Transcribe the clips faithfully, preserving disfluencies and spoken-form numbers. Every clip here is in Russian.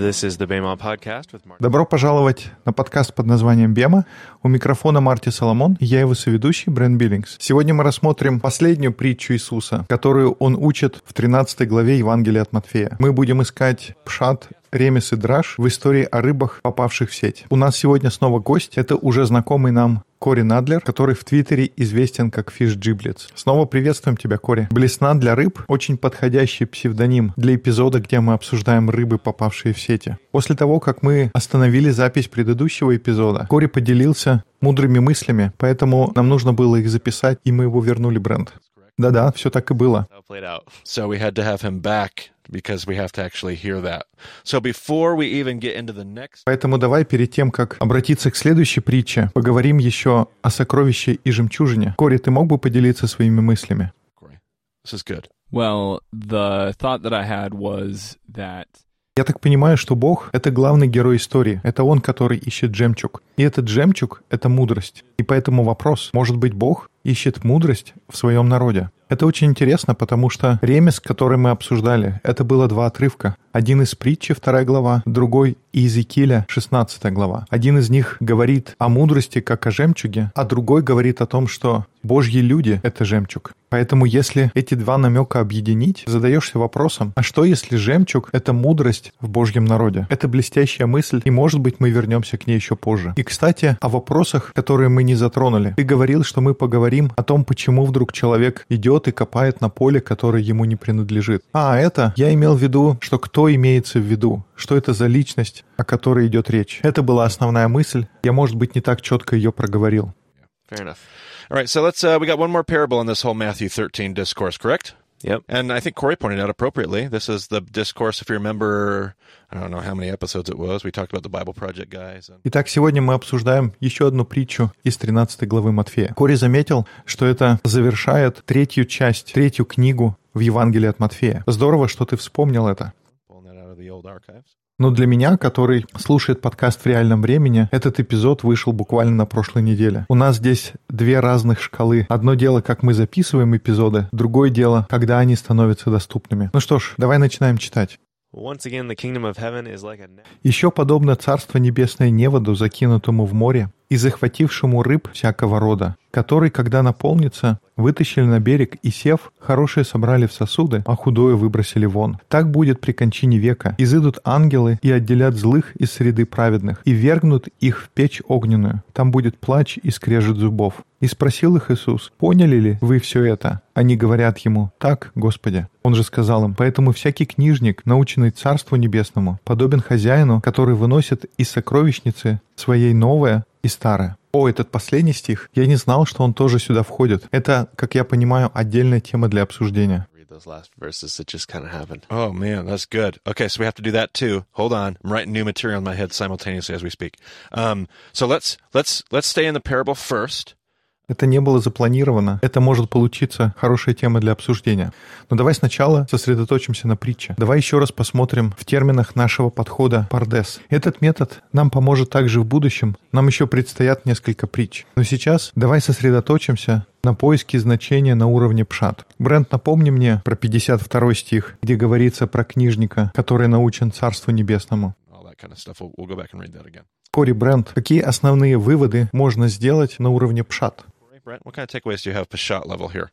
This is the Bema podcast with Marty. Добро пожаловать на подкаст под названием «Бема». У микрофона Марти Соломон, и я его соведущий Брент Биллингс. Сегодня мы рассмотрим последнюю притчу Иисуса, которую он учит в тринадцатой главе Евангелия от Матфея. Мы будем искать пшат, ремес и драж в истории о рыбах, попавших в сеть. У нас сегодня снова гость. Это уже знакомый нам Кори Надлер, который в Твиттере известен как Fish Giblets. Снова приветствуем тебя, Кори. Блесна для рыб — очень подходящий псевдоним для эпизода, где мы обсуждаем рыбы, попавшие в сети. После того, как мы остановили запись предыдущего эпизода, Кори поделился мудрыми мыслями, поэтому нам нужно было их записать, и мы его вернули, Брент. Да-да, все так и было. So we had to have him back because we have to actually hear that. So before we even get into the next... Поэтому давай перед тем, как обратиться к следующей притче, поговорим еще о сокровище и жемчужине. Кори, ты мог бы поделиться своими мыслями? This is good. Well, the thought that I had was that... Я так понимаю, что Бог — это главный герой истории. Это Он, который ищет жемчуг. И этот жемчуг — это мудрость. И поэтому вопрос, может быть, Бог ищет мудрость в своем народе? Это очень интересно, потому что ремес, который мы обсуждали, это было два отрывка. Один из притчи, вторая глава, другой из Иезекииля, шестнадцатая глава. Один из них говорит о мудрости, как о жемчуге, а другой говорит о том, что Божьи люди — это жемчуг. Поэтому если эти два намека объединить, задаешься вопросом, а что если жемчуг — это мудрость в Божьем народе? Это блестящая мысль, и, может быть, мы вернемся к ней еще позже. И, кстати, о вопросах, которые мы не затронули. Ты говорил, что мы поговорим о том, почему вдруг человек идет и копает на поле, которое ему не принадлежит. А, это я имел в виду, что кто имеется в виду, что это за личность, о которой идет речь. Это была основная мысль. Я, может быть, не так четко ее проговорил. Fair enough. All right, so let's, uh, we got one more parable in this whole Matthew thirteen discourse, correct? Yep. And I think Corey pointed out appropriately, this is the discourse, if you remember, I don't know how many episodes it was, we talked about the Bible Project guys. And... Итак, сегодня мы обсуждаем еще одну притчу из тринадцатой главы Матфея. Кори заметил, что это завершает третью часть, третью книгу в Евангелии от Матфея. Здорово, что ты вспомнил это. Но для меня, который слушает подкаст в реальном времени, этот эпизод вышел буквально на прошлой неделе. У нас здесь две разных шкалы. Одно дело, как мы записываем эпизоды, другое дело, когда они становятся доступными. Ну что ж, давай начинаем читать. Once again, the kingdom of heaven is like a net. «Еще подобно Царство Небесное неводу, закинутому в море и захватившему рыб всякого рода, который, когда наполнится, вытащили на берег и, сев, хорошее собрали в сосуды, а худое выбросили вон. Так будет при кончине века. Изыдут ангелы и отделят злых из среды праведных, и вергнут их в печь огненную. Там будет плач и скрежет зубов. И спросил их Иисус: поняли ли вы все это? Они говорят ему: так, Господи. Он же сказал им: поэтому всякий книжник, наученный Царству Небесному, подобен хозяину, который выносит из сокровищницы своей новое и старое». О, этот последний стих, я не знал, что он тоже сюда входит. Это, как я понимаю, отдельная тема для обсуждения. Those last verses that just kind of happened. Oh man, that's good. Okay, so we have to do that too. Hold on, I'm writing new material in my head simultaneously as we speak. Um, so let's let's let's stay in the parable first. Это не было запланировано. Это может получиться хорошая тема для обсуждения. Но давай сначала сосредоточимся на притче. Давай еще раз посмотрим в терминах нашего подхода «пардес». Этот метод нам поможет также в будущем. Нам еще предстоят несколько притч. Но сейчас давай сосредоточимся на поиске значения на уровне пшат. Брент, напомни мне про пятьдесят второй стих, где говорится про книжника, который научен Царству Небесному. Kind of stuff. We'll, we'll go back and read that again. Кори, Брент, какие основные выводы можно сделать на уровне пшат? Brent, what kind of takeaways do you have Peshat level here?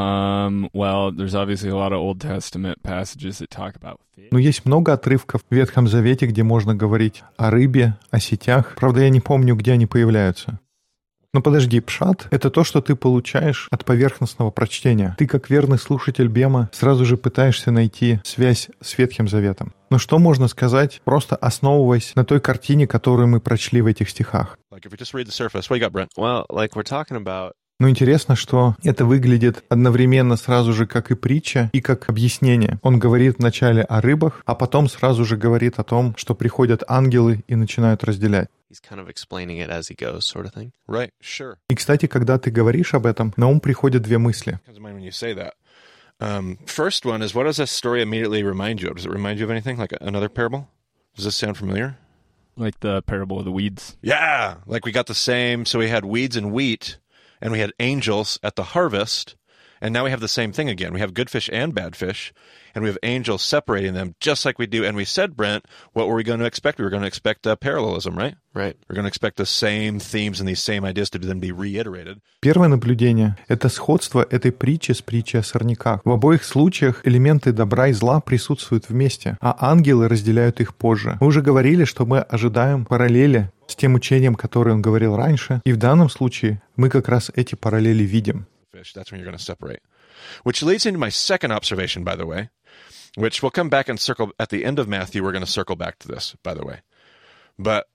Um, well, there's obviously a lot of Old Testament passages that talk about fish. Ну, есть много отрывков в Ветхом Завете, где можно говорить о рыбе, о сетях. Правда, я не помню, где они появляются. Но подожди, пшат — это то, что ты получаешь от поверхностного прочтения. Ты, как верный слушатель Бема, сразу же пытаешься найти связь с Ветхим Заветом. Но что можно сказать, просто основываясь на той картине, которую мы прочли в этих стихах? Like if we just read the surface, what you got, Brent? Well, like we're talking about. Но интересно, что это выглядит одновременно сразу же как и притча, и как объяснение. Он говорит вначале о рыбах, а потом сразу же говорит о том, что приходят ангелы и начинают разделять. He's kind of explaining it as he goes, sort of thing. Right, sure. И, кстати, когда ты говоришь об этом, на ум приходят две мысли. Comes to mind when you say that. Um, first one is, what does this story immediately remind you of? Does it remind you of anything, like another parable? Does this sound familiar? Like the parable of the weeds. Yeah, like we got the same. So we had weeds and wheat, and we had angels at the harvest, And now we have the same thing again. We have good fish and bad fish, and we have angels separating them just like we do. And we said, Brent, what were we going to expect? We were going to expect uh, parallelism, right? Right. We're going to expect the same themes and these same ideas to then be reiterated. Первое наблюдение — это сходство этой притчи с притчей о сорняках. В обоих случаях элементы добра и зла присутствуют вместе, а ангелы разделяют их позже. Мы уже говорили, что мы ожидаем параллели с тем учением, которое он говорил раньше, и в данном случае мы как раз эти параллели видим. That's when you're going to separate. Which leads into my second observation, by the way, which we'll come back and circle at the end of Matthew. We're going to circle back to this, by the way. But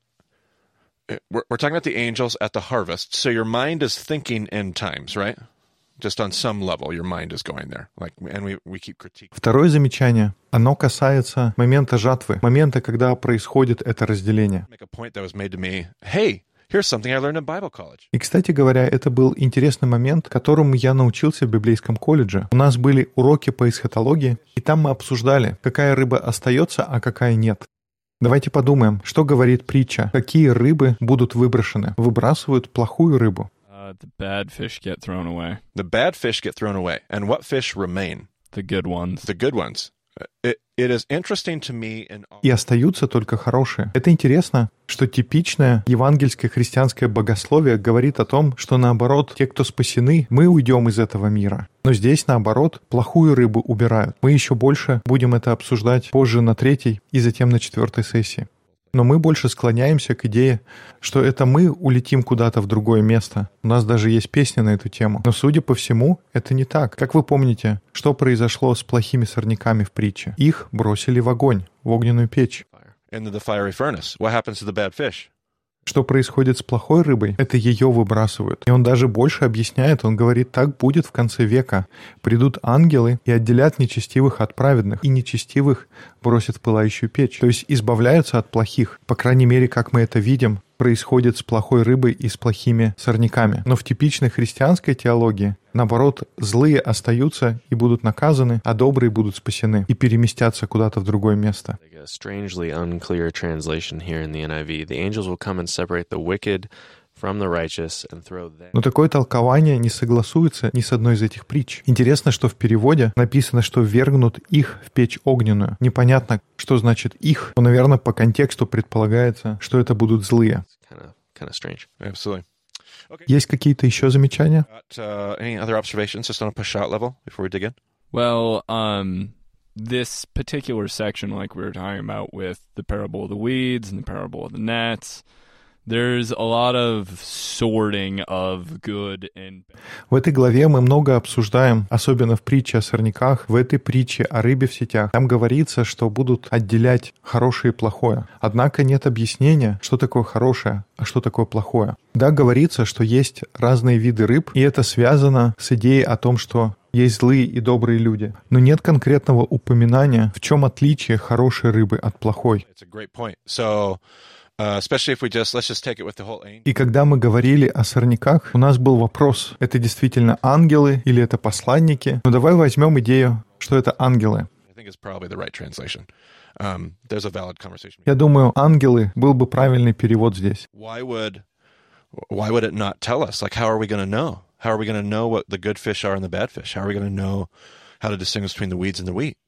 we're, we're talking about the angels at the harvest. So your mind is thinking end times, right? Just on some level, your mind is going there. Like, and we, we keep critiquing. Второе замечание. Оно касается момента жатвы, момента, когда происходит это разделение. Make a point that was made to me. Hey, here's something I learned in Bible college. И, кстати говоря, это был интересный момент, которому я научился в библейском колледже. У нас были уроки по эсхатологии, и там мы обсуждали, какая рыба остается, а какая нет. Давайте подумаем, что говорит притча. Какие рыбы будут выброшены? Выбрасывают плохую рыбу. Uh, the bad fish get thrown away. The bad fish get thrown away. And what fish remain? The good ones. The good ones. It, it is interesting to me in all... И остаются только хорошие. Это интересно, что типичное евангельское христианское богословие говорит о том, что наоборот, те, кто спасены, мы уйдем из этого мира. Но здесь, наоборот, плохую рыбу убирают. Мы еще больше будем это обсуждать позже на третьей и затем на четвертой сессии. Но мы больше склоняемся к идее, что это мы улетим куда-то в другое место. У нас даже есть песня на эту тему. Но, судя по всему, это не так. Как вы помните, что произошло с плохими сорняками в притче? Их бросили в огонь, в огненную печь. Into the fiery furnace. What happens to the bad fish? Что происходит с плохой рыбой? Это ее выбрасывают. И он даже больше объясняет, он говорит, так будет в конце века. Придут ангелы и отделят нечестивых от праведных, и нечестивых бросят в пылающую печь. То есть избавляются от плохих. По крайней мере, как мы это видим, происходит с плохой рыбой и с плохими сорняками. Но в типичной христианской теологии, наоборот, злые остаются и будут наказаны, а добрые будут спасены и переместятся куда-то в другое место. Like a strangely unclear translation here in the N I V. The angels will come and separate the wicked from the righteous and throw them. Но такое толкование не согласуется ни с одной из этих притч. Интересно, что в переводе написано, что ввергнут их в печь огненную. Непонятно, что значит их, но, наверное, по контексту предполагается, что это будут злые. Kind of, kind of strange. Absolutely. Есть какие-то еще замечания? Got, uh, any other observations just on a push-out level before we dig in? Well, um, this particular section, like we were talking about with the parable of the weeds and the parable of the nets, there's a lot of sorting of good and bad. В этой главе мы много обсуждаем, особенно в притче о сорняках, в этой притче о рыбе в сетях. Там говорится, что будут отделять хорошее и плохое. Однако нет объяснения, что такое хорошее, а что такое плохое. Да, говорится, что есть разные виды рыб, и это связано с идеей о том, что есть злые и добрые люди. Но нет конкретного упоминания, в чем отличие хорошей рыбы от плохой. It's a great point. So, uh, especially if we just, let's just take it with the whole angel. И когда мы говорили о сорняках, у нас был вопрос, это действительно ангелы или это посланники? Но давай возьмем идею, что это ангелы. I think it's probably the right translation. Um, there's a valid conversation. Я думаю, ангелы был бы правильный перевод здесь. Why would, why would it not tell us? Like, how are we going to know? How are we going to know what the good fish are and the bad fish? How are we going to know how to distinguish between the weeds and the wheat?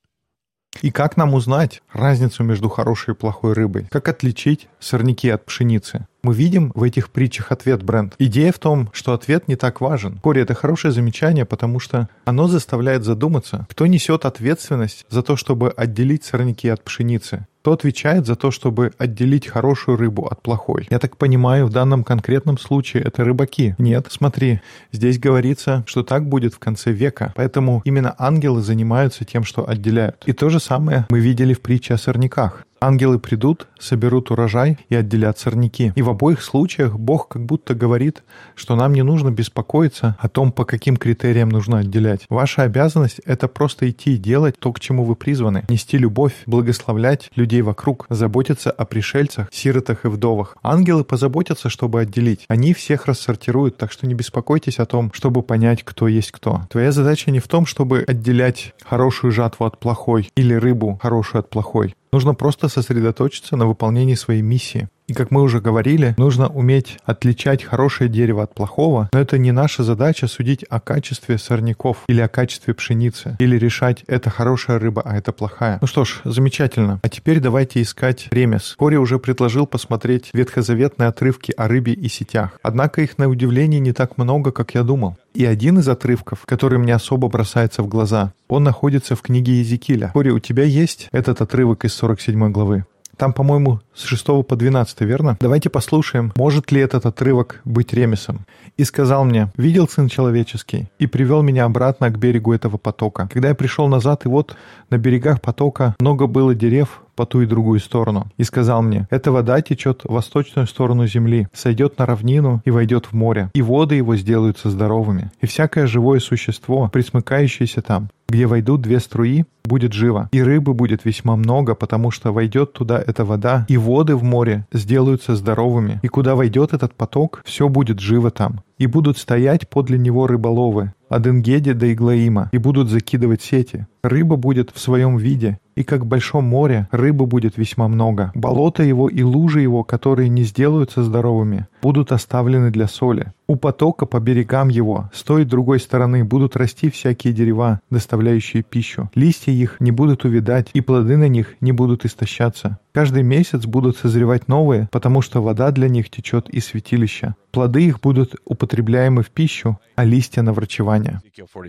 И как нам узнать разницу между хорошей и плохой рыбой? Как отличить сорняки от пшеницы? Мы видим в этих притчах ответ, Брент. Идея в том, что ответ не так важен. Кори, это хорошее замечание, потому что оно заставляет задуматься, кто несет ответственность за то, чтобы отделить сорняки от пшеницы. Кто отвечает за то, чтобы отделить хорошую рыбу от плохой? Я так понимаю, в данном конкретном случае это рыбаки. Нет, смотри, здесь говорится, что так будет в конце века. Поэтому именно ангелы занимаются тем, что отделяют. И то же самое мы видели в притче о сорняках. Ангелы придут, соберут урожай и отделят сорняки. И в обоих случаях Бог как будто говорит, что нам не нужно беспокоиться о том, по каким критериям нужно отделять. Ваша обязанность — это просто идти и делать то, к чему вы призваны. Нести любовь, благословлять людей вокруг, заботиться о пришельцах, сиротах и вдовах. Ангелы позаботятся, чтобы отделить. Они всех рассортируют, так что не беспокойтесь о том, чтобы понять, кто есть кто. Твоя задача не в том, чтобы отделять хорошую жатву от плохой или рыбу хорошую от плохой. Нужно просто сосредоточиться на выполнении своей миссии. И как мы уже говорили, нужно уметь отличать хорошее дерево от плохого, но это не наша задача судить о качестве сорняков или о качестве пшеницы, или решать, это хорошая рыба, а это плохая. Ну что ж, замечательно. А теперь давайте искать ремес. Кори уже предложил посмотреть ветхозаветные отрывки о рыбе и сетях. Однако их, на удивление, не так много, как я думал. И один из отрывков, который мне особо бросается в глаза, он находится в книге Иезекииля. Кори, у тебя есть этот отрывок из сорок седьмой главы? Там, по-моему, с шестого по двенадцатый, верно? Давайте послушаем, может ли этот отрывок быть ремесом. «И сказал мне, видел Сын Человеческий, и привел меня обратно к берегу этого потока. Когда я пришел назад, и вот на берегах потока много было дерев по ту и другую сторону. И сказал мне, эта вода течет в восточную сторону земли, сойдет на равнину и войдет в море, и воды его сделаются здоровыми. И всякое живое существо, присмыкающееся там, где войдут две струи, будет живо. И рыбы будет весьма много, потому что войдет туда эта вода, и воды в море сделаются здоровыми. И куда войдет этот поток, все будет живо там. И будут стоять подле него рыболовы, от Энгеди до Иглаима, и будут закидывать сети. Рыба будет в своем виде, и как в большом море рыбы будет весьма много. Болото его и лужи его, которые не сделаются здоровыми, будут оставлены для соли. У потока по берегам его, с той и другой стороны, будут расти всякие дерева, доставляющие пищу. Листья их не будут увядать, и плоды на них не будут истощаться. Каждый месяц будут созревать новые, потому что вода для них течет из святилища. Плоды их будут употребляемы в пищу, а листья на врачевание».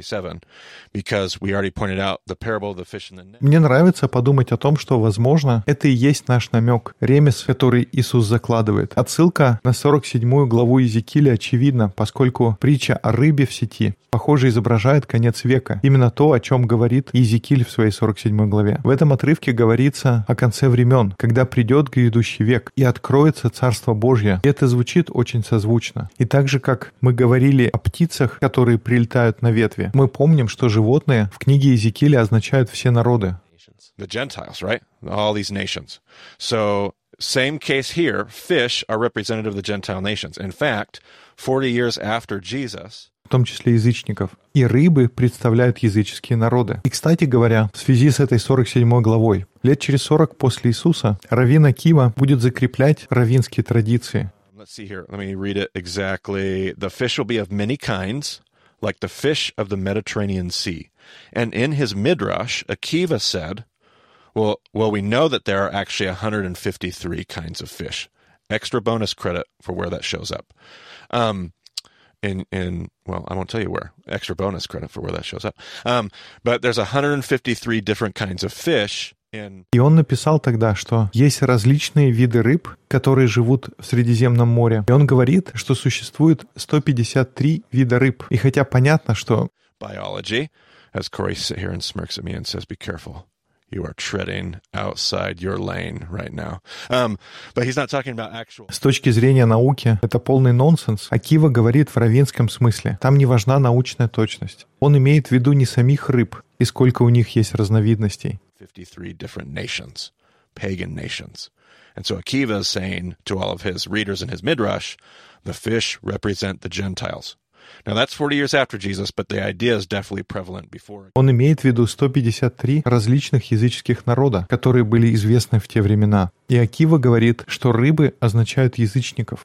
Мне нравится подумать о том, что, возможно, это и есть наш намек, ремес, который Иисус закладывает. Отсылка на сорок седьмую главу Иезекииля очевидна, поскольку притча о рыбе в сети, похоже, изображает конец века. Именно то, о чем говорит Иезекииль в своей сорок седьмой главе. В этом отрывке говорится о конце времен, когда придет грядущий век и откроется Царство Божье. И это звучит очень созвучно. И так же, как мы говорили о птицах, которые прилетают на ветви, мы помним, что животные в книге Иезекииля означают все народы. The Gentiles, right? All these nations. So, same case here, fish are representative of the Gentile nations. In fact, forty years after Jesus, в том числе язычников. И рыбы представляют языческие народы. И, кстати говоря, в связи с этой сорок седьмой главой, лет через сорок после Иисуса раввин Акива будет закреплять раввинские традиции. Let's see here. Let me read it exactly. The fish will be of many kinds, like the fish of the Mediterranean Sea. And in his midrash, Akiva said, well, well, we know that there are actually one hundred fifty-three kinds of fish. Extra bonus credit for where that shows up. Um, in, in, well, I won't tell you where. Extra bonus credit for where that shows up. Um, but there's one hundred fifty-three different kinds of fish. И он написал тогда, что есть различные виды рыб, которые живут в Средиземном море. И он говорит, что существует сто пятьдесят три вида рыб. И хотя понятно, что... Biology, as Corey sits here and smirks at me and says, be careful. You are treading outside your lane right now. Um, but he's not talking about actual... С точки зрения науки, это полный нонсенс. Акива говорит в раввинском смысле. Там не важна научная точность. Он имеет в виду не самих рыб, и сколько у них есть разновидностей. fifty-three different nations, pagan nations. And so Akiva is saying to all of his readers in his midrash, the fish represent the Gentiles. Now that's forty years after Jesus, but the idea is definitely prevalent before. Он имеет в виду сто пятьдесят три различных языческих народа, которые были известны в те времена. И Акива говорит, что рыбы означают язычников.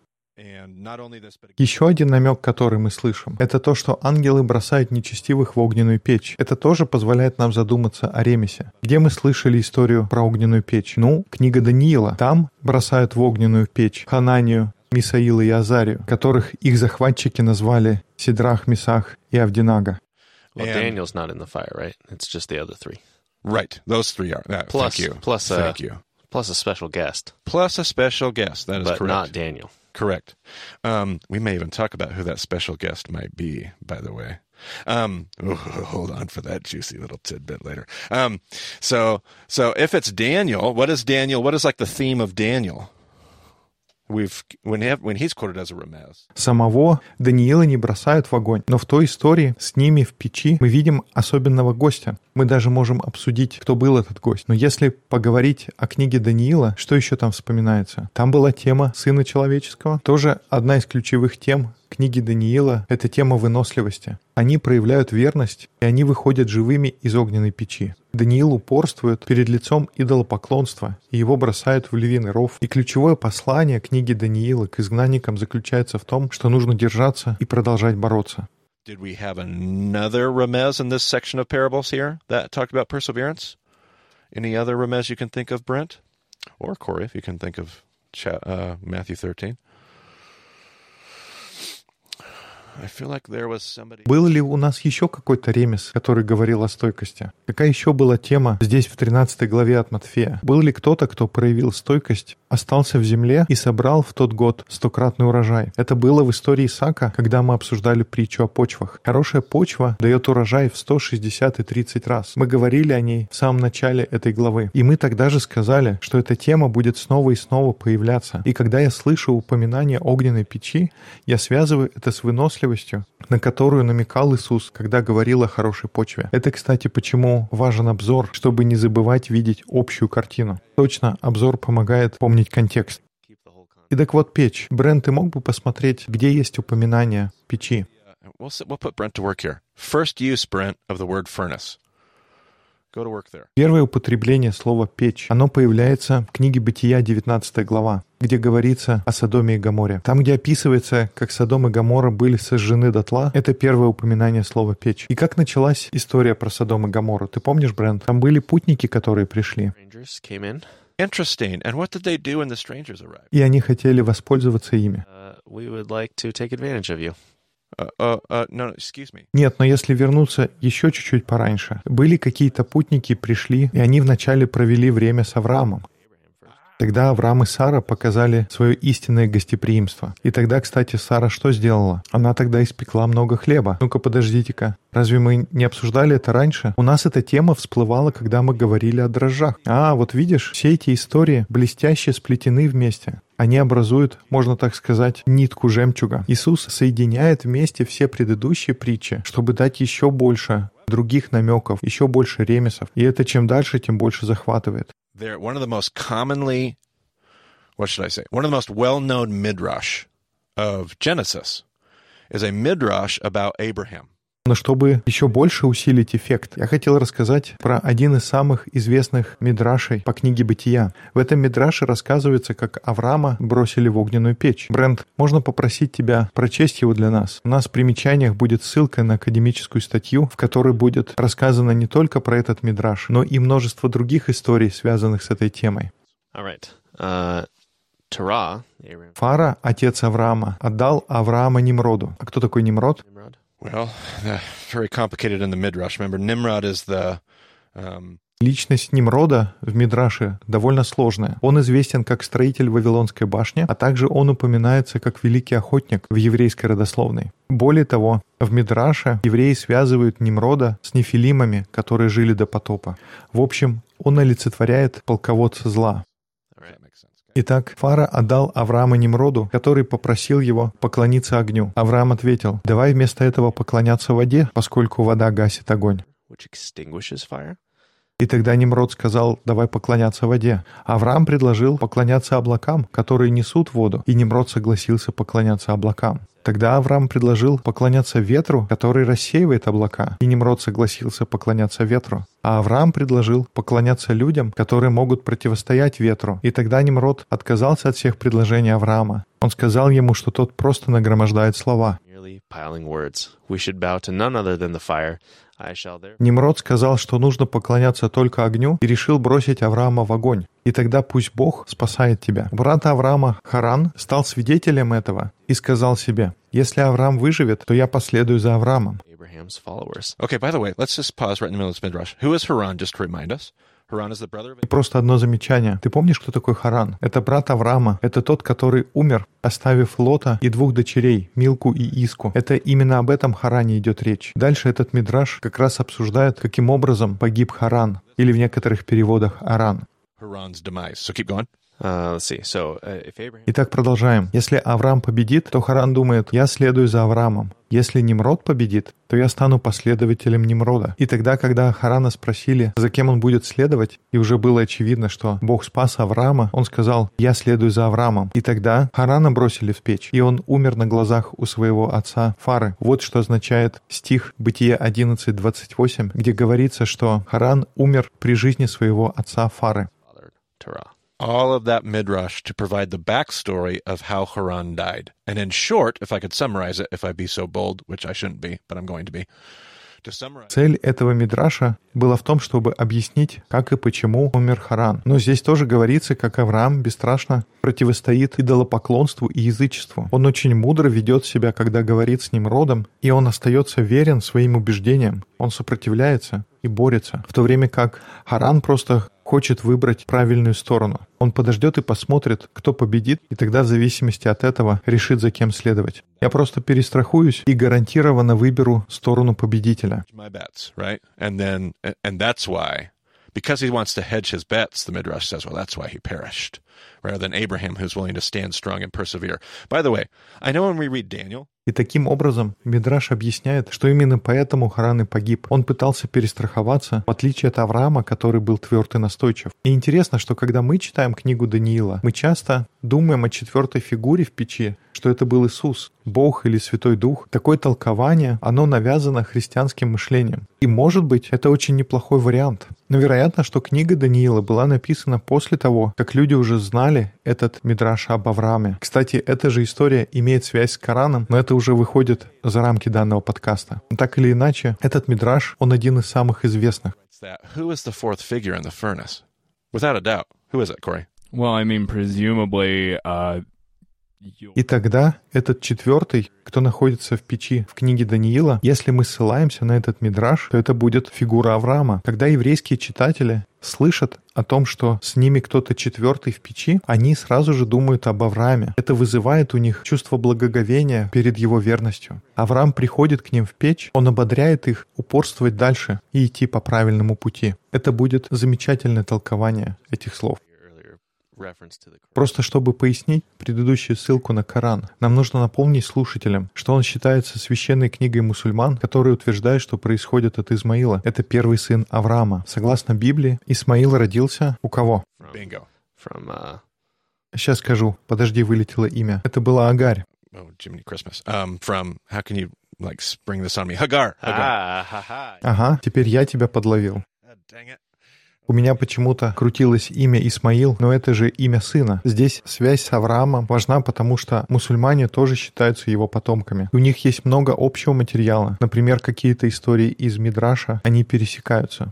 Еще один намек, который мы слышим, это то, что ангелы бросают нечестивых в огненную печь. Это тоже позволяет нам задуматься о ремесе. Где мы слышали историю про огненную печь? Ну, книга Даниила. Там бросают в огненную печь Хананию, Мисаила и Азарию, которых их захватчики назвали Сидрах, Месах и Авдинага. Well, Daniel's not in the fire, right? It's just the other three. Right. Those three are. Uh, plus, thank you. Plus, uh, thank you. Plus a special guest. Plus a special guest. That is but correct. But not Daniel. Correct. Um, we may even talk about who that special guest might be, by the way. Um, oh, hold on for that juicy little tidbit later. Um, so, so if it's Daniel, what is Daniel? What is like the theme of Daniel? We've when he, when he's quoted as a remez. Самого Даниила не бросают в огонь, но в той истории с ними в печи мы видим особенного гостя. Мы даже можем обсудить, кто был этот гость. Но если поговорить о книге Даниила, что еще там вспоминается? Там была тема Сына Человеческого, тоже одна из ключевых тем книги Даниила — это тема выносливости. Они проявляют верность, и они выходят живыми из огненной печи. Даниил упорствует перед лицом идолопоклонства, и его бросают в львиный ров. И ключевое послание книги Даниила к изгнанникам заключается в том, что нужно держаться и продолжать бороться. Did we have another remez in this section of parables here that talked about perseverance? Any other remez you can think of, Brent? Or Corey, if you can think of cha- uh, Matthew thirteen? I feel like there was somebody... Был ли у нас еще какой-то ремес, который говорил о стойкости? Какая еще была тема здесь в тринадцатой главе от Матфея? Был ли кто-то, кто проявил стойкость, остался в земле и собрал в тот год стократный урожай? Это было в истории Исаака, когда мы обсуждали притчу о почвах. Хорошая почва дает урожай в сто шестьдесят и тридцать раз. Мы говорили о ней в самом начале этой главы. И мы тогда же сказали, что эта тема будет снова и снова появляться. И когда я слышу упоминание огненной печи, я связываю это с выносливостью, на которую намекал Иисус, когда говорил о хорошей почве. Это, кстати, почему важен обзор, чтобы не забывать видеть общую картину. Точно, обзор помогает помнить контекст. И так вот печь. Брент, ты мог бы посмотреть, где есть упоминание печи? We'll, we'll put Brent to work here. First use, Brent, of the word furnace. Go to work there. Первое употребление слова «печь», оно появляется в книге Бытия, девятнадцатая глава, где говорится о Содоме и Гоморе. Там, где описывается, как Содом и Гоморра были сожжены дотла, это первое упоминание слова «печь». И как началась история про Содом и Гоморру? Ты помнишь, Брент? Там были путники, которые пришли. Interesting. And what did they do when the strangers arrived? И они хотели воспользоваться ими. Uh, we would like to take advantage of you. Uh, uh, uh, no, excuse me. Нет, но если вернуться еще чуть-чуть пораньше, были какие-то путники, пришли, и они вначале провели время с Авраамом. Тогда Авраам и Сара показали свое истинное гостеприимство. И тогда, кстати, Сара что сделала? Она тогда испекла много хлеба. Ну-ка, подождите-ка. Разве мы не обсуждали это раньше? У нас эта тема всплывала, когда мы говорили о дрожжах. А, вот видишь, все эти истории блестяще сплетены вместе. Они образуют, можно так сказать, нитку жемчуга. Иисус соединяет вместе все предыдущие притчи, чтобы дать еще больше других намеков, еще больше ремесов. И это чем дальше, тем больше захватывает. They're one of the most commonly, what should I say, one of the most well-known midrash of Genesis is a midrash about Abraham. Но чтобы еще больше усилить эффект, я хотел рассказать про один из самых известных мидрашей по книге Бытия. В этом мидраше рассказывается, как Авраама бросили в огненную печь. Брент, можно попросить тебя прочесть его для нас? У нас в примечаниях будет ссылка на академическую статью, в которой будет рассказано не только про этот мидраш, но и множество других историй, связанных с этой темой. All right. Uh, Terah, Abraham. Фара, отец Авраама, отдал Авраама Нимроду. А кто такой Нимрод? Nimrod. Well, uh, very complicated in the midrash. Remember, Nimrod is the... Um... Личность Нимрода в Мидраше довольно сложная. Он известен как строитель Вавилонской башни, а также он упоминается как великий охотник в еврейской родословной. Более того, в Мидраше евреи связывают Нимрода с нефилимами, которые жили до потопа. В общем, он олицетворяет полководца зла. Итак, Фара отдал Авраама Нимроду, который попросил его поклониться огню. Авраам ответил: «Давай вместо этого поклоняться воде, поскольку вода гасит огонь». Which extinguishes fire? И тогда Нимрод сказал: «Давай поклоняться воде». Авраам предложил поклоняться облакам, которые несут воду, и Нимрод согласился поклоняться облакам. Тогда Авраам предложил поклоняться ветру, который рассеивает облака, и Нимрод согласился поклоняться ветру. А Авраам предложил поклоняться людям, которые могут противостоять ветру, и тогда Нимрод отказался от всех предложений Авраама. Он сказал ему, что тот просто нагромождает слова. Нимрод сказал, что нужно поклоняться только огню, и решил бросить Авраама в огонь. И тогда пусть Бог спасает тебя. Брат Авраама, Харан, стал свидетелем этого и сказал себе: «Если Авраам выживет, то я последую за Авраамом». Okay, by the way, let's just pause right in the middle of this midrash. Who is Haran, just to remind us? Haran is the brother of... И просто одно замечание. Ты помнишь, кто такой Харан? Это брат Авраама. Это тот, который умер, оставив Лота и двух дочерей, Милку и Иску. Это именно об этом Харане идет речь. Дальше этот мидраш как раз обсуждает, каким образом погиб Харан, или в некоторых переводах Аран. Haran's demise. So keep going. Uh, let's see. So, uh, if Abraham... Итак, продолжаем. Если Авраам победит, то Харан думает, я следую за Авраамом. Если Nimrod победит, то я стану последователем Nimrodа. И тогда, когда Харана спросили, за кем он будет следовать, и уже было очевидно, что Бог спас Авраама, он сказал, я следую за Авраамом. И тогда Харана бросили в печь, и он умер на глазах у своего отца Фары. Вот что означает стих Бытие одиннадцать двадцать восемь, где говорится, что Харан умер при жизни своего отца Фары. All of that midrash to provide the backstory of how Haran died. And in short, if I could summarize it, if I be so bold, which I shouldn't be, but I'm going to be, to summarize... Цель этого мидраша была в том, чтобы объяснить, как и почему умер Харан. Но здесь тоже говорится, как Авраам бесстрашно противостоит идолопоклонству и язычеству. Он очень мудро ведет себя, когда говорит с Нимродом, и он остается верен своим убеждениям. Он сопротивляется и борется, в то время как Харан просто хочет выбрать правильную сторону. Он подождет и посмотрит, кто победит, и тогда в зависимости от этого решит, за кем следовать. Я просто перестрахуюсь и гарантированно выберу сторону победителя. My bets, right? And then, and that's why, because he wants to hedge his bets, the Midrash says, well, that's why he perished, rather than Abraham, who's willing to stand strong and persevere. By the way, I know when we read Daniel, И таким образом Мидраш объясняет, что именно поэтому Харан и погиб. Он пытался перестраховаться, в отличие от Авраама, который был тверд и настойчив. И интересно, что когда мы читаем книгу Даниила, мы часто думаем о четвертой фигуре в печи, что это был Иисус, Бог или Святой Дух. Такое толкование, оно навязано христианским мышлением. И, может быть, это очень неплохой вариант. Но вероятно, что книга Даниила была написана после того, как люди уже знали этот мидраш об Аврааме. Кстати, эта же история имеет связь с Кораном, но это уже выходит за рамки данного подкаста. Но так или иначе, этот мидраш, он один из самых известных. Who is the fourth figure in the furnace? Without a doubt. Who is it, Corey? Well, I mean, presumably, uh, И тогда этот четвертый, кто находится в печи в книге Даниила, если мы ссылаемся на этот мидраш, то это будет фигура Авраама. Когда еврейские читатели слышат о том, что с ними кто-то четвертый в печи, они сразу же думают об Аврааме. Это вызывает у них чувство благоговения перед его верностью. Авраам приходит к ним в печь, он ободряет их упорствовать дальше и идти по правильному пути. Это будет замечательное толкование этих слов. Просто чтобы пояснить предыдущую ссылку на Коран, нам нужно напомнить слушателям, что он считается священной книгой мусульман, которые утверждают, что происходит от Измаила. Это первый сын Авраама. Согласно Библии, Исмаил родился у кого? Bingo. From, uh... Сейчас скажу. Подожди, вылетело имя. Это была Агарь. Oh, Jiminy Christmas. Um, from, how can you, like, spring this on me? Hagar. Hagar. Ah, ha, ha. Ага, теперь я тебя подловил. God dang it. У меня почему-то крутилось имя Исмаил, но это же имя сына. Здесь связь с Авраамом важна, потому что мусульмане тоже считаются его потомками. У них есть много общего материала. Например, какие-то истории из Мидраша, они пересекаются.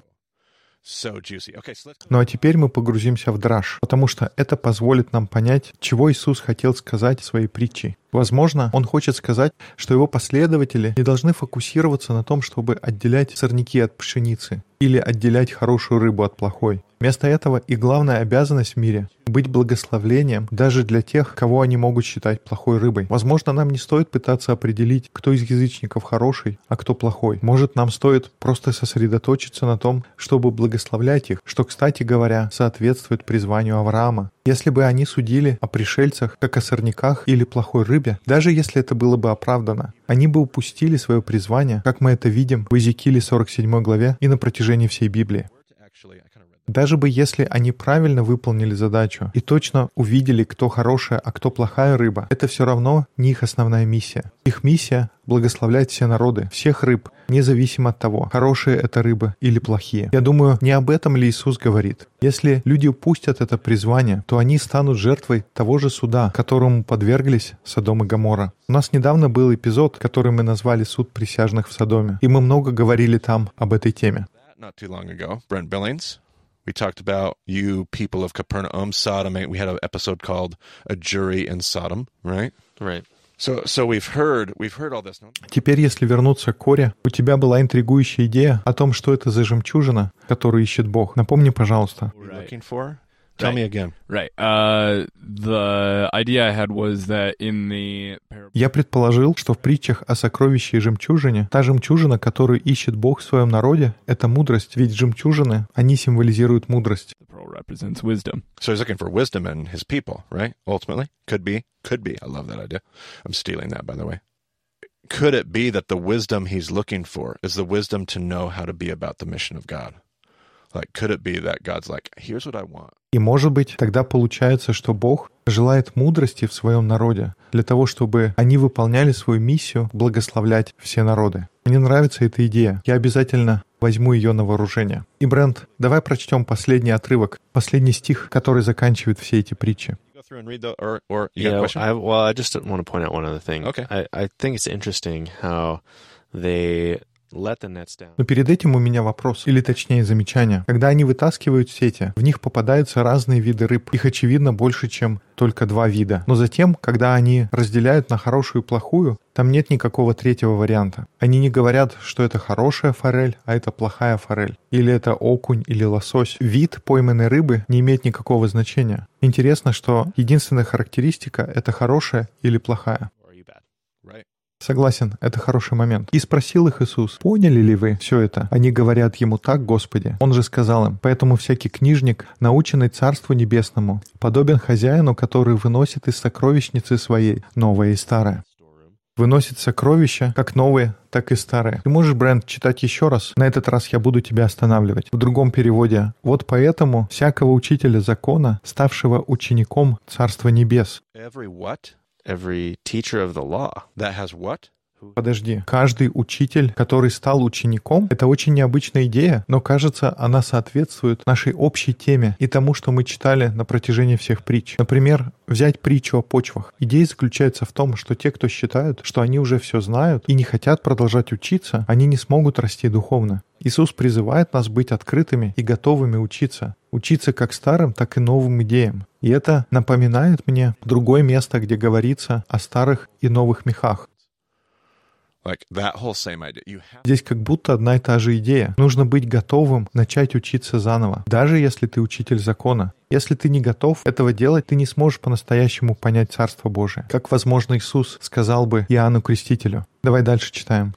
So juicy. Okay, so let's... Ну а теперь мы погрузимся в драш, потому что это позволит нам понять, чего Иисус хотел сказать в своей притче. Возможно, Он хочет сказать, что Его последователи не должны фокусироваться на том, чтобы отделять сорняки от пшеницы или отделять хорошую рыбу от плохой. Вместо этого их главная обязанность в мире — быть благословлением даже для тех, кого они могут считать плохой рыбой. Возможно, нам не стоит пытаться определить, кто из язычников хороший, а кто плохой. Может, нам стоит просто сосредоточиться на том, чтобы благословлять их, что, кстати говоря, соответствует призванию Авраама. Если бы они судили о пришельцах, как о сорняках или плохой рыбе, даже если это было бы оправдано, они бы упустили свое призвание, как мы это видим в Иезекииле сорок седьмой главе и на протяжении всей Библии. Даже бы если они правильно выполнили задачу и точно увидели, кто хорошая, а кто плохая рыба, это все равно не их основная миссия. Их миссия — благословлять все народы, всех рыб, независимо от того, хорошие это рыбы или плохие. Я думаю, не об этом ли Иисус говорит? Если люди упустят это призвание, то они станут жертвой того же суда, которому подверглись Содом и Гоморра. У нас недавно был эпизод, который мы назвали «Суд присяжных в Содоме», и мы много говорили там об этой теме. Not too long ago, Brent Billings. We talked about you people of Capernaum, Sodom. We had an episode called "A Jury in Sodom," right? Right. So, so we've heard, we've heard all this. Теперь, если вернуться к Коре, у тебя была интригующая идея о том, что это за жемчужина, которую ищет Бог. Напомни, пожалуйста. What you're looking for? Tell Right. me again. Right. Uh, the idea I had was that in the parable, Я предположил, что в притчах о сокровище и жемчужине, та жемчужина, которую ищет Бог в своем народе, это мудрость, ведь жемчужины, они символизируют мудрость. the pearl represents wisdom. So he's looking for wisdom in his people, right? Ultimately. Could be. Could be. I love that idea. I'm stealing that, by the way. Could it be that the wisdom he's looking for is the wisdom to know how to be about the mission of God? Like, could it be that God's like, here's what I want? И, может быть, тогда получается, что Бог желает мудрости в своем народе для того, чтобы они выполняли свою миссию благословлять все народы. Мне нравится эта идея. Я обязательно возьму ее на вооружение. И, Брент, давай прочтем последний отрывок, последний стих, который заканчивает все эти притчи. Yeah, I, well, I just want to point out one other thing. Okay. I, I think it's interesting how they let the nets down. Но перед этим у меня вопрос, или точнее замечание. Когда они вытаскивают сети, в них попадаются разные виды рыб. Их, очевидно, больше, чем только два вида. Но затем, когда они разделяют на хорошую и плохую, там нет никакого третьего варианта. Они не говорят, что это хорошая форель, а это плохая форель. Или это окунь, или лосось. Вид пойманной рыбы не имеет никакого значения. Интересно, что единственная характеристика — это хорошая или плохая. Согласен, это хороший момент. И спросил их Иисус: поняли ли вы все это? Они говорят ему: так, Господи. Он же сказал им: поэтому всякий книжник, наученный Царству Небесному, подобен хозяину, который выносит из сокровищницы своей новое и старое. Выносит сокровища, как новые, так и старые. Ты можешь, Брент, читать еще раз? На этот раз я буду тебя останавливать. В другом переводе: вот поэтому всякого учителя закона, ставшего учеником Царства Небес. Every what? Every teacher of the law. That has what? Подожди. Каждый учитель, который стал учеником, это очень необычная идея, но, кажется, она соответствует нашей общей теме и тому, что мы читали на протяжении всех притч. Например, взять притчу о почвах. Идея заключается в том, что те, кто считают, что они уже все знают и не хотят продолжать учиться, они не смогут расти духовно. Иисус призывает нас быть открытыми и готовыми учиться. Учиться как старым, так и новым идеям. И это напоминает мне другое место, где говорится о старых и новых мехах. Like that whole same idea. You have... Здесь как будто одна и та же идея. Нужно быть готовым начать учиться заново, даже если ты учитель закона. Если ты не готов этого делать, ты не сможешь по-настоящему понять Царство Божие. Как, возможно, Иисус сказал бы Иоанну Крестителю. Давай дальше читаем.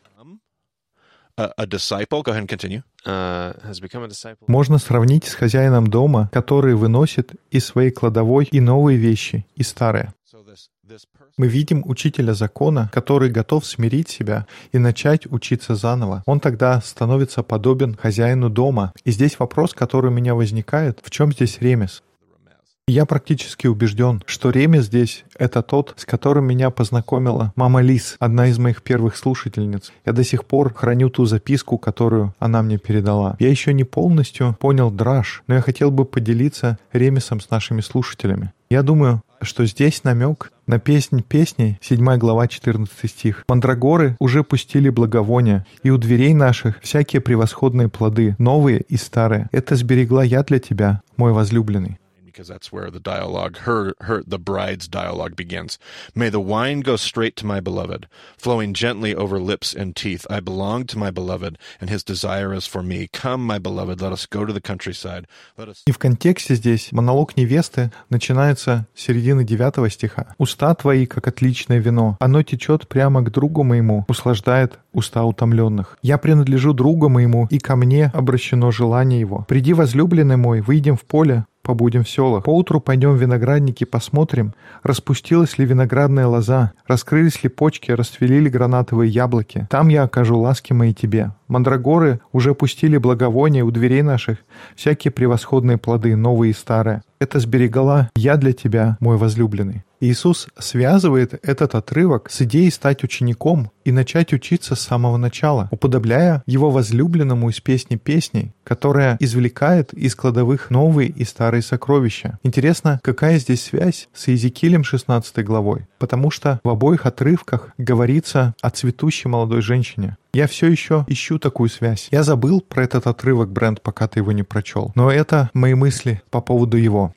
A, a disciple, go ahead and continue. Uh, has become a disciple. Можно сравнить с хозяином дома, который выносит из своей кладовой и новые вещи, и старые. So this, this person... Мы видим учителя закона, который готов смирить себя и начать учиться заново. Он тогда становится подобен хозяину дома. И здесь вопрос, который у меня возникает: в чем здесь ремес? Я практически убежден, что ремес здесь — это тот, с которым меня познакомила мама Лиз, одна из моих первых слушательниц. Я до сих пор храню ту записку, которую она мне передала. Я еще не полностью понял драж, но я хотел бы поделиться ремесом с нашими слушателями. Я думаю, что здесь намек на песнь песней, седьмая глава, четырнадцатый стих. «Мандрагоры уже пустили благовония, и у дверей наших всякие превосходные плоды, новые и старые. Это сберегла я для тебя, мой возлюбленный». Because that's where the dialogue, her, her, the bride's dialogue begins. May the wine go straight to my beloved, flowing gently over lips and teeth. I belong to my beloved, and his desire is for me. Come, my beloved, let us go to the countryside. Let us... И в контексте здесь монолог невесты начинается с середины девятого стиха. «Уста твои, как отличное вино, оно течет прямо к другу моему, услаждает уста утомленных. Я принадлежу другу моему, и ко мне обращено желание его. Приди, возлюбленный мой, выйдем в поле, побудем в селах. Поутру пойдем в виноградники, посмотрим, распустилась ли виноградная лоза, раскрылись ли почки, расцвели ли гранатовые яблоки. Там я окажу ласки мои тебе. Мандрагоры уже пустили благовония у дверей наших, всякие превосходные плоды, новые и старые. Это сберегала я для тебя, мой возлюбленный». Иисус связывает этот отрывок с идеей стать учеником и начать учиться с самого начала, уподобляя его возлюбленному из песни песней, которая извлекает из кладовых новые и старые сокровища. Интересно, какая здесь связь с Иезекиилем шестнадцатой главой? Потому что в обоих отрывках говорится о цветущей молодой женщине. Я все еще ищу такую связь. Я забыл про этот отрывок, Брент, пока ты его не прочел. Но это мои мысли по поводу его.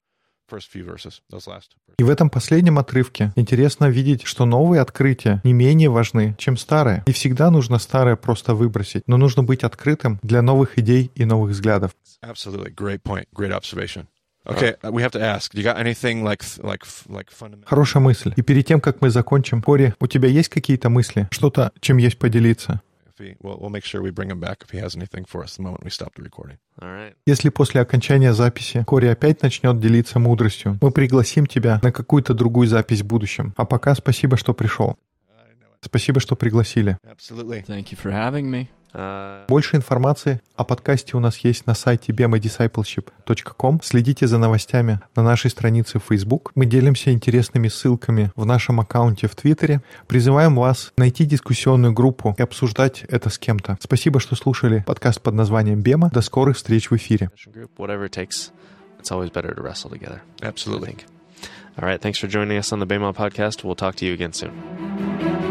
И в этом последнем отрывке интересно видеть, что новые открытия не менее важны, чем старые. Не всегда нужно старое просто выбросить, но нужно быть открытым для новых идей и новых взглядов. Absolutely. Great point. Great observation. Okay, we have to ask. You got anything like like like fundamental? Хорошая мысль. И перед тем, как мы закончим, Кори, у тебя есть какие-то мысли? Что-то, чем есть поделиться? he, we'll, we'll make sure we bring him back if he has anything for us the moment we stop the recording. All right. Если после окончания записи Кори опять начнет делиться мудростью, мы пригласим тебя на какую-то другую запись в будущем. А пока спасибо, что пришел. Спасибо, что пригласили. Absolutely. Thank you for having me. Uh, Больше информации о подкасте у нас есть на сайте бема дисайплшип точка ком. Следите за новостями на нашей странице в Facebook. Мы делимся интересными ссылками в нашем аккаунте в Твиттере. Призываем вас найти дискуссионную группу и обсуждать это с кем-то. Спасибо, что слушали подкаст под названием «Бема». До скорых встреч в эфире. group, whatever it takes, it's always better to wrestle together. I Absolutely. think. All right. Thanks for joining us on the Bema podcast. We'll talk to you again soon.